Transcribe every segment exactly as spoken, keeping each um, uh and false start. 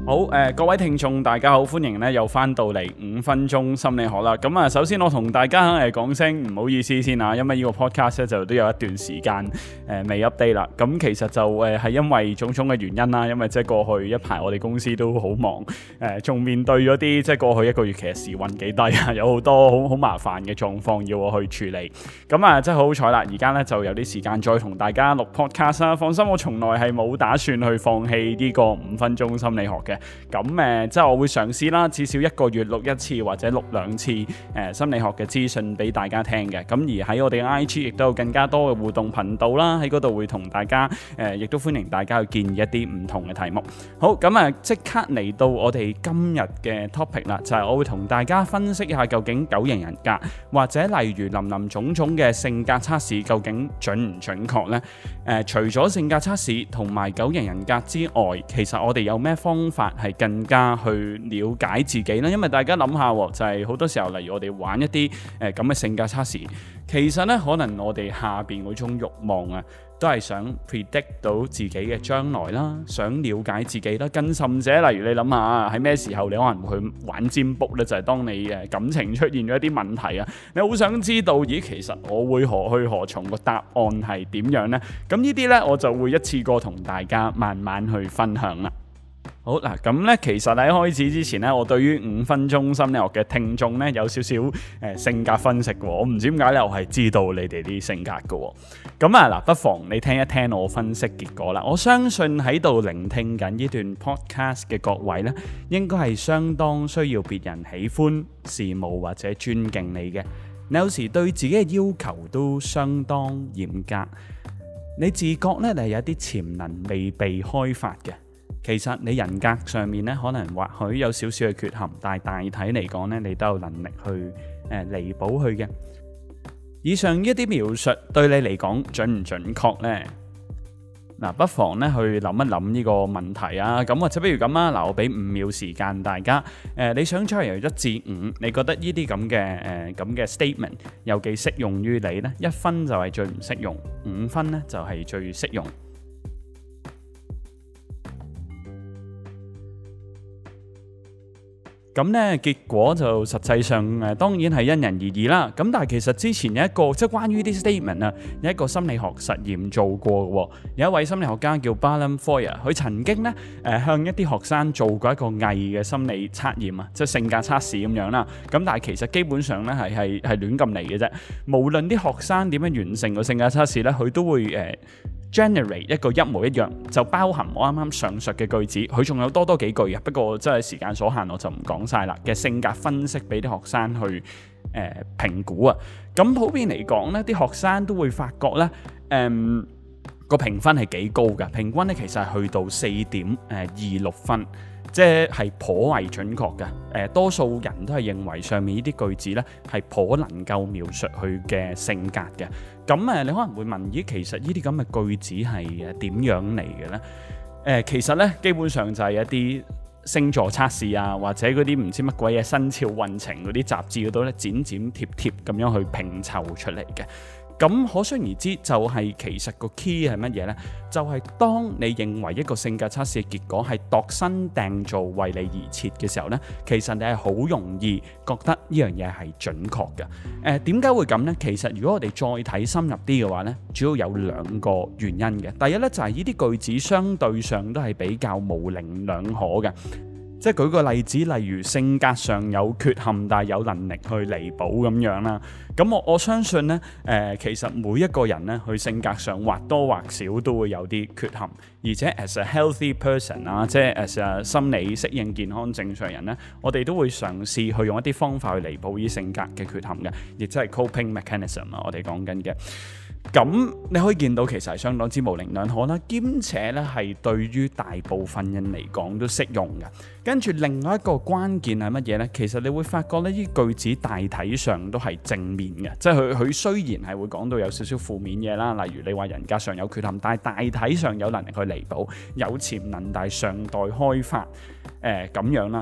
好誒、呃，各位聽眾大家好，歡迎咧又翻到嚟五分鐘心理學啦。咁啊，首先我同大家誒講聲唔好意思先啊，因為呢個 podcast 咧就都有一段時間誒、呃、未 update 啦。咁其實就誒係、呃、因為種種嘅原因啦，因為即係過去一排我哋公司都好忙，誒、呃、仲面對咗啲即係過去一個月其實時運幾低啊，有好多好好麻煩嘅狀況要我去處理。咁啊，真係好好彩啦，而家咧就有啲時間再同大家錄 podcast 啦。放心，我從來係冇打算去放棄呢個五分鐘心理學嘅。咁誒、呃，即係我會嘗試啦，至少一個月錄一次或者錄兩次誒、呃、心理學嘅資訊俾大家聽嘅。咁而喺我哋嘅 I G 亦都有更加多嘅互動頻道啦，喺嗰度會同大家誒，亦、呃、都歡迎大家去建議一啲唔同嘅題目。好，咁啊，即刻嚟到我哋今日嘅 topic 啦，就係、是、我會同大家分析一下究竟九型人格或者例如林林種種嘅性格測試究竟準唔準確呢？誒、呃，除咗性格測試同埋九型人格之外，其實我哋有咩方法係更加去了解自己呢？因為大家諗下，就係、是、好多時候，例如我哋玩一啲誒咁嘅性格測試，其實呢，可能我哋下邊嗰種慾望啊，都係想 predict 到自己嘅將來啦，想了解自己啦。更甚者，例如你諗下喺咩時候你可能會去玩占卜呢？就係、是、當你誒感情出現咗一啲問題啊，你好想知道，咦，其實我會何去何從，個答案係點樣呢？咁呢啲呢，我就會一次過同大家慢慢去分享啦。好嗱，咁咧其實喺開始之前咧，我對於五分鐘心理學嘅聽眾咧有少少誒、呃、性格分析嘅，我唔知點解咧，我係知道你哋啲性格嘅。咁啊嗱，不妨你聽一聽我分析結果啦。我相信喺度聆聽緊呢段 podcast 嘅各位咧，應該係相當需要別人喜歡、羨慕或者尊敬你嘅。你有時對自己嘅要求都相當嚴格，你自覺咧你係有啲潛能未被開發嘅。其實你人格上面咧，可能或許有少少嘅缺陷，但係大體嚟講咧，你都有能力去誒、呃、彌補佢嘅。以上一啲描述對你嚟講準唔準確呢？嗱，不妨咧去諗一諗呢個問題啊。咁或者不如咁啊，嗱，我俾五秒時間大家。誒、呃，你想出嚟由一至五，你覺得呢啲咁嘅誒咁嘅 statement 有幾適用於你呢？一分就係最唔適用，五分咧就係最適用。咁咧結果就實際上誒當然係因人而異啦。咁但係其實之前有一個即係關於啲 statement 啊，有一個心理學實驗做過嘅喎。有一位心理學家叫 Barbara Foyer，佢曾經咧誒向一啲學生做過一個偽嘅心理測驗啊，即係性格測試咁樣啦。咁但係其實基本上咧係係係亂咁嚟嘅啫。無論啲學生點樣完成個性格測試咧，佢都會誒 generate 一個一模一樣，就包含我啱啱上述嘅句子。佢仲有多多幾句嘅，不過真係時間所限，我就唔講晒啦。嘅性格分析俾啲學生去誒評估啊。咁普遍嚟講咧，啲學生都會發覺咧，誒個評分係幾高嘅，平均咧其實係去到四點誒二六分，即係頗為準確嘅。誒、呃、多數人都係認為上面呢啲句子咧係頗能夠描述佢嘅性格嘅。咁誒，你可能會問：咦，其實呢啲咁嘅句子係誒點樣嚟嘅咧？誒、呃，其實咧基本上就係一啲星座測試啊，或者嗰啲唔知乜鬼嘢生肖運程嗰啲雜誌嗰度咧，剪剪貼貼咁樣去拼湊出嚟嘅。咁可想而知，就係其實個 key 係乜嘢呢？就係當你認為一個性格測試嘅結果係度身訂造為你而設嘅時候呢，其實你係好容易覺得呢樣嘢係準確嘅。誒點解會咁呢？其實如果我哋再睇深入啲嘅話呢，主要有兩個原因嘅。第一呢，就係呢啲句子相對上都係比較模棱兩可嘅。即係舉個例子，例如性格上有缺陷，但係有能力去彌補咁樣啦。咁我我相信呢，誒、呃、其實每一個人呢，佢性格上或多或少都會有啲缺陷，而且 as a healthy person 啊，即係 as a 心理適應健康正常人呢，我哋都會嘗試去用一啲方法去彌補呢性格嘅缺陷嘅，亦即係 coping mechanism 啊，我哋講緊嘅。咁你可以見到其實係相當之模棱兩可啦，兼且咧係對於大部分人嚟講都適用嘅。跟住另外一個關鍵係乜嘢呢？其實你會發覺呢啲句子大體上都係正面嘅，即係佢佢雖然係會講到有少少負面嘢啦，例如你話人格上有缺陷，但係大體上有能力去彌補，有潛能但係尚待開發，誒、呃、咁樣啦。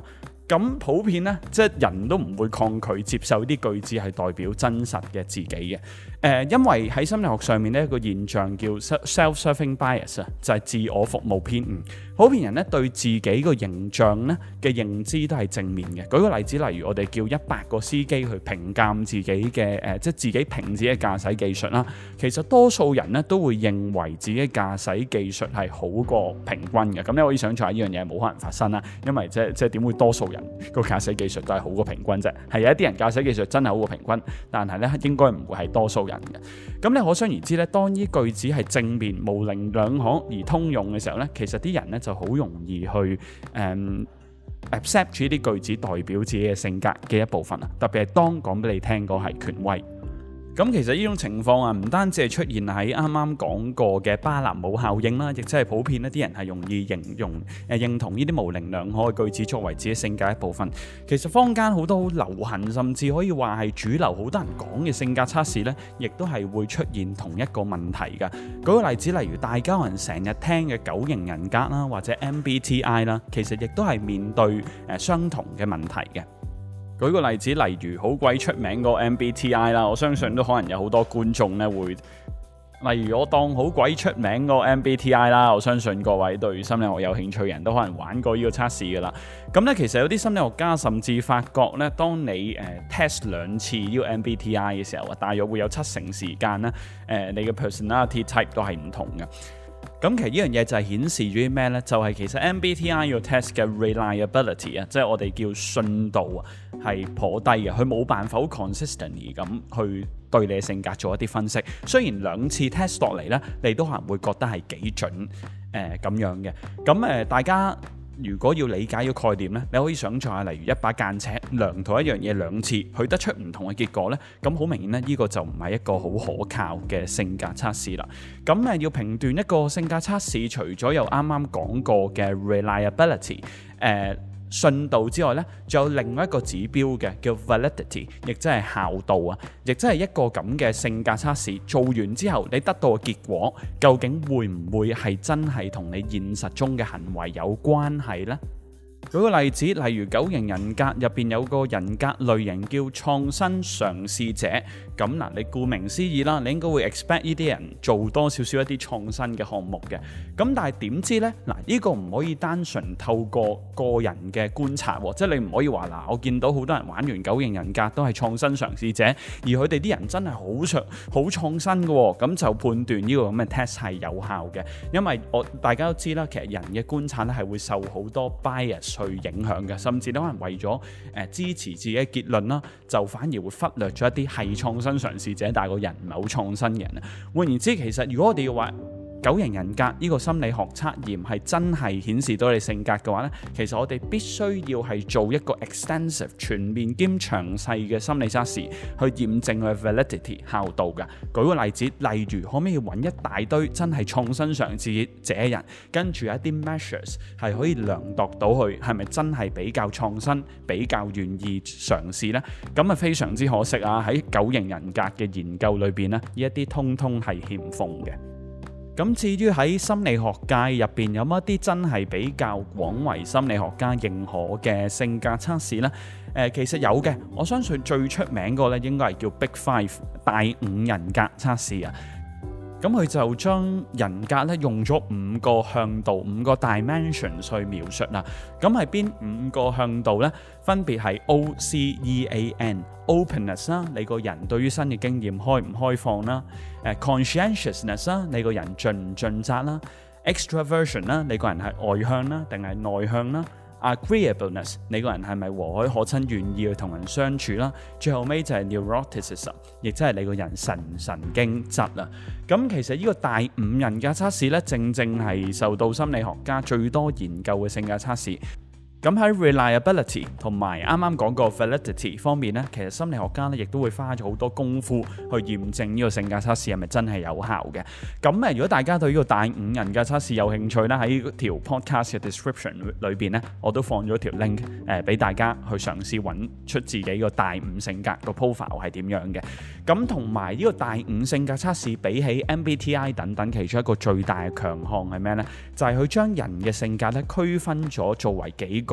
咁普遍咧，即係人都唔會抗拒接受啲句子係代表真實嘅自己嘅。誒、呃，因為喺心理學上面呢一個現象叫 self-serving bias 啊，就係自我服務偏誤。普遍人咧對自己個形象咧嘅認知都係正面嘅。舉個例子，例如我哋叫一百個司機去評鑑自己嘅誒、呃，即係自己評自己嘅駕駛技術啦。其實多數人咧都會認為自己駕駛技術係好過平均嘅。咁你可以想象下呢樣嘢冇可能發生啦，因為即係即係點會多數人個駕駛技術都係好過平均啫？係有一啲人駕駛技術真係好過平均，但係咧應該唔會係多數人嘅。咁你可想而知咧，當呢句子係正面、模棱兩可而通用嘅時候咧，其實啲人咧就好容易去誒、嗯、accept 住呢啲句子代表自己嘅性格嘅一部分啊。特別係當講俾你聽嗰係權威。咁其實呢種情況啊，唔單止係出現喺啱啱講過嘅巴納姆效應啦，亦即係普遍一啲人係容易形容誒、呃、認同呢啲模棱兩可嘅句子作為自己性格一部分。其實坊間好多好流行，甚至可以話係主流，好多人講嘅性格測試呢，亦都係會出現同一個問題㗎。舉個例子，例如大家人成日聽嘅九型人格啦，或者 M B T I 啦，其實亦都係面對誒、呃、相同嘅問題嘅。舉個例子，例如好鬼出名個 M B T I 啦，我相信都可能有好多觀眾咧會，例如我當好鬼出名個 M B T I 啦，我相信各位對心理學有興趣嘅人都可能玩過呢個測試噶啦。咁咧其實有啲心理學家甚至發覺咧，當你誒、呃、test 兩次呢個 M B T I 嘅時候啊，大約會有七成時間咧，誒、呃、你嘅 personality type 都係唔同嘅。咁其實呢樣嘢就係顯示咗啲咩呢？就係、是、其實 M B T I 個 test 嘅 reliability 啊，即係我哋叫信度啊，係頗低嘅。佢冇辦法好 consistently 咁去對你嘅性格做一啲分析。雖然兩次 test 落嚟呢，你都可能會覺得係幾準誒咁、呃、樣嘅。咁誒、呃，大家如果要理解呢個概念呢，你可以想象下，例如一把間尺量同一樣嘢兩次，佢得出唔同嘅結果呢，咁好明顯呢，呢、呢個就唔係一個好可靠嘅性格測試啦。咁誒要評斷一個性格測試，除咗有啱啱講過嘅 reliability，誒、呃。信度之外咧，仲有另外一個指標嘅叫 validity， 亦即係效度啊，亦即係一個咁嘅性格測試做完之後，你得到嘅結果究竟會唔會係真係同你現實中嘅行為有關係呢？舉個例子，例如九型人格入邊有個人格類型叫創新嘗試者，咁嗱，你顧名思義啦，你應該會 expect 呢啲人做多少少一啲創新嘅項目嘅。咁但係點知呢？嗱，呢個唔可以單純透過個人嘅觀察，即係你唔可以話嗱，我見到好多人玩完九型人格都係創新嘗試者，而佢哋啲人真係好創好創新嘅，咁就判斷呢個咁嘅 test 係有效嘅。因為我大家都知啦，其實人嘅觀察咧係會受好多 bias去影響嘅，甚至都可能為咗誒、呃、支持自己嘅結論啦，就反而會忽略咗一啲係創新嘗試者，但係個人唔係好創新嘅人啊。換言之，其實如果我哋要話九型人格呢個心理學測驗係真係顯示到你性格嘅話呢，其實我哋必須要係做一個 extensive 全面兼詳細嘅心理測試去驗證佢嘅 validity 效度㗎。舉個例子，例如可唔可以揾一大堆真係創新嘗試者人，跟住一啲 measures 係可以量度到佢係咪真係比較創新、比較願意嘗試呢？咁啊非常之可惜啊！喺九型人格嘅研究裏邊呢，呢一啲通通係欠奉嘅。咁至於喺心理學界入邊有乜啲真係比較廣為心理學家認可嘅性格測試呢？誒、呃，其實有嘅，我相信最出名個咧應該係叫 Big Five 大五人格測試啊。咁佢就將人格咧用咗五個向度、五個 dimension 去描述啦。咁係邊五個向度呢？分別係 O C E A N。Openness 啦，你個人對於新嘅經驗開唔開放啦？誒 conscientiousness 啦，你個人盡唔盡責啦 ？Extraversion 啦，你個人係外向啦定係內向啦 ？Agreeableness， 你個人係咪和藹可親，願意去同人相處啦？最後尾就係 neuroticism， 亦即係你個人神神經質啦。咁其實呢個大五人格測試咧，正正係受到心理學家最多研究嘅性格測試。咁喺 reliability 同埋啱啱講過 validity 方面咧，其實心理學家咧亦都會花咗好多功夫去驗證呢個性格測試係咪真係有效嘅。咁誒，如果大家對呢個大五人格測試有興趣咧，喺條 podcast 嘅 description 裏邊咧，我都放咗條 link 誒俾大家去嘗試揾出自己個大五性格個 profile 係點樣嘅。咁同埋呢個大五性格測試比起 M B T I 等等，其中一個最大嘅強項係咩呢？就係佢將人嘅性格咧區分咗作為幾個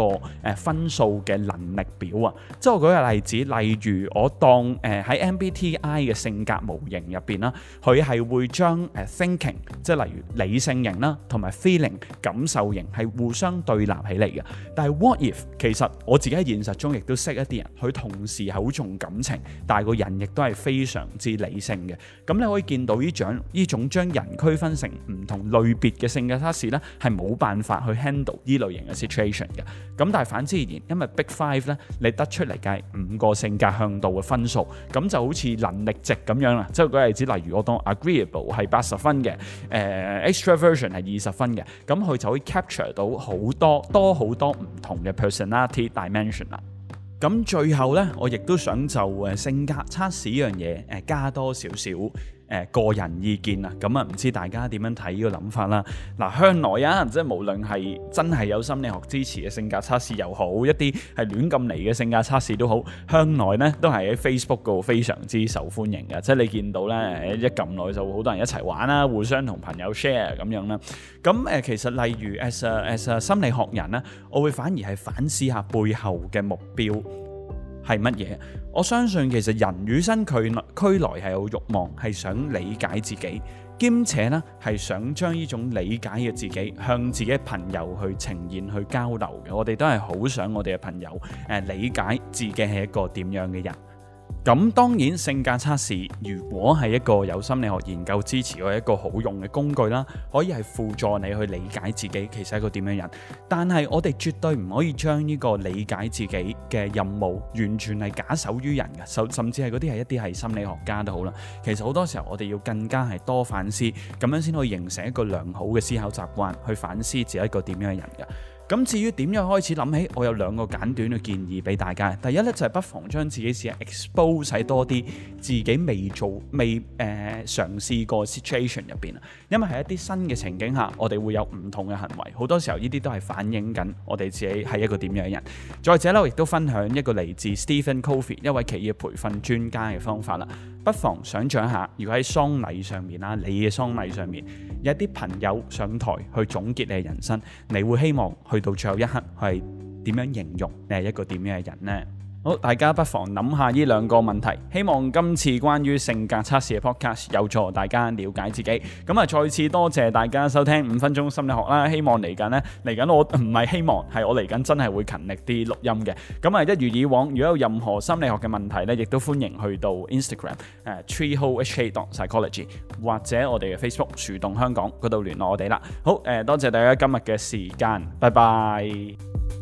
個誒、呃、分數嘅能力表啊。即係我舉個例子，例如我當誒喺、呃、M B T I 嘅性格模型入邊啦，佢係會將誒、呃、thinking， 即係例如理性型啦，同埋 feeling 感受型係互相對立起嚟嘅。但係 what if 其實我自己喺現實中亦都識一啲人，佢同時係好重感情，但係個人亦都係非常之理性嘅。咁你可以見到呢種呢種將人區分成唔同類別嘅性格測試咧，係冇辦法去 handle 呢類型嘅 situation 嘅。咁但係反之而言，因為 Big Five 咧，你得出嚟嘅係五個性格向度嘅分數，咁就好似能力值咁樣啦。即係舉個例子，例如我當 agreeable 係八十分嘅，誒、呃、extraversion 係二十分嘅，咁佢就可以 capture 到好多多好多唔同嘅 personality dimension 啦。咁最後咧，我亦都想就誒性格測試呢樣嘢誒加多少少誒個人意見啊。咁啊，唔知大家點樣睇呢個諗法啦？嗱，向來啊，即係無論係真係有心理學支持嘅性格測試又好，一啲係亂咁嚟嘅性格測試都好，向來咧都係喺 Facebook 度非常之受歡迎嘅。即係你見到咧，一撳落去就好多人一齊玩啦，互相同朋友 share 咁樣啦。咁誒，其實例如 as a as a 心理學人咧，我會反而係反思下背後嘅目標係乜嘢？我相信其實人與生俱俱來係有慾望，係想理解自己，兼且呢係想將呢種理解嘅自己向自己朋友去呈現、去交流嘅。我哋都係好想我哋嘅朋友誒、呃、理解自己係一個點樣嘅人。咁當然性格測試如果係一個有心理學研究支持或一個好用嘅工具啦，可以係輔助你去理解自己其實係一個點樣人，但係我哋絕對唔可以將呢個理解自己嘅任務完全係假手於人嘅，甚甚至係嗰啲係一啲係心理學家都好啦。其實好多時候我哋要更加係多反思，咁樣先可以形成一個良好嘅思考習慣，去反思自己一個點樣嘅人嘅。咁至於點樣開始諗起，我有兩個簡短嘅建議俾大家。第一咧就係、是、不妨將自己試下 expose 喺多啲自己未做、未誒、呃、嘗試過 situation 入邊啊。因為喺一啲新嘅情景下，我哋會有唔同嘅行為，好多時候呢啲都係反映緊我哋自己係一個點樣嘅人。再者咧，我亦都分享一個嚟自 Stephen Covey 一位企業培訓專家嘅方法啦。不妨想像一下，如果喺喪禮上面啦，你嘅喪禮上面有一啲朋友上台去總結你嘅人生，你會希望去到最後一刻係點樣形容你係一個點樣嘅人呢？好，大家不妨諗下呢兩個問題，希望今次關於性格測試嘅 podcast 有助大家了解自己。咁啊，再次多謝大家收聽五分鐘心理學啦。希望嚟緊呢，嚟緊我唔係希望係我嚟緊真係會勤力啲錄音嘅。咁啊，一如以往，如果有任何心理學嘅問題呢，亦都歡迎去到 Instagram 誒、uh, treehole h k dot psychology 或者我哋嘅 Facebook 樹洞香港嗰度聯絡我哋啦。好，誒、呃、多謝大家今日嘅時間，拜拜。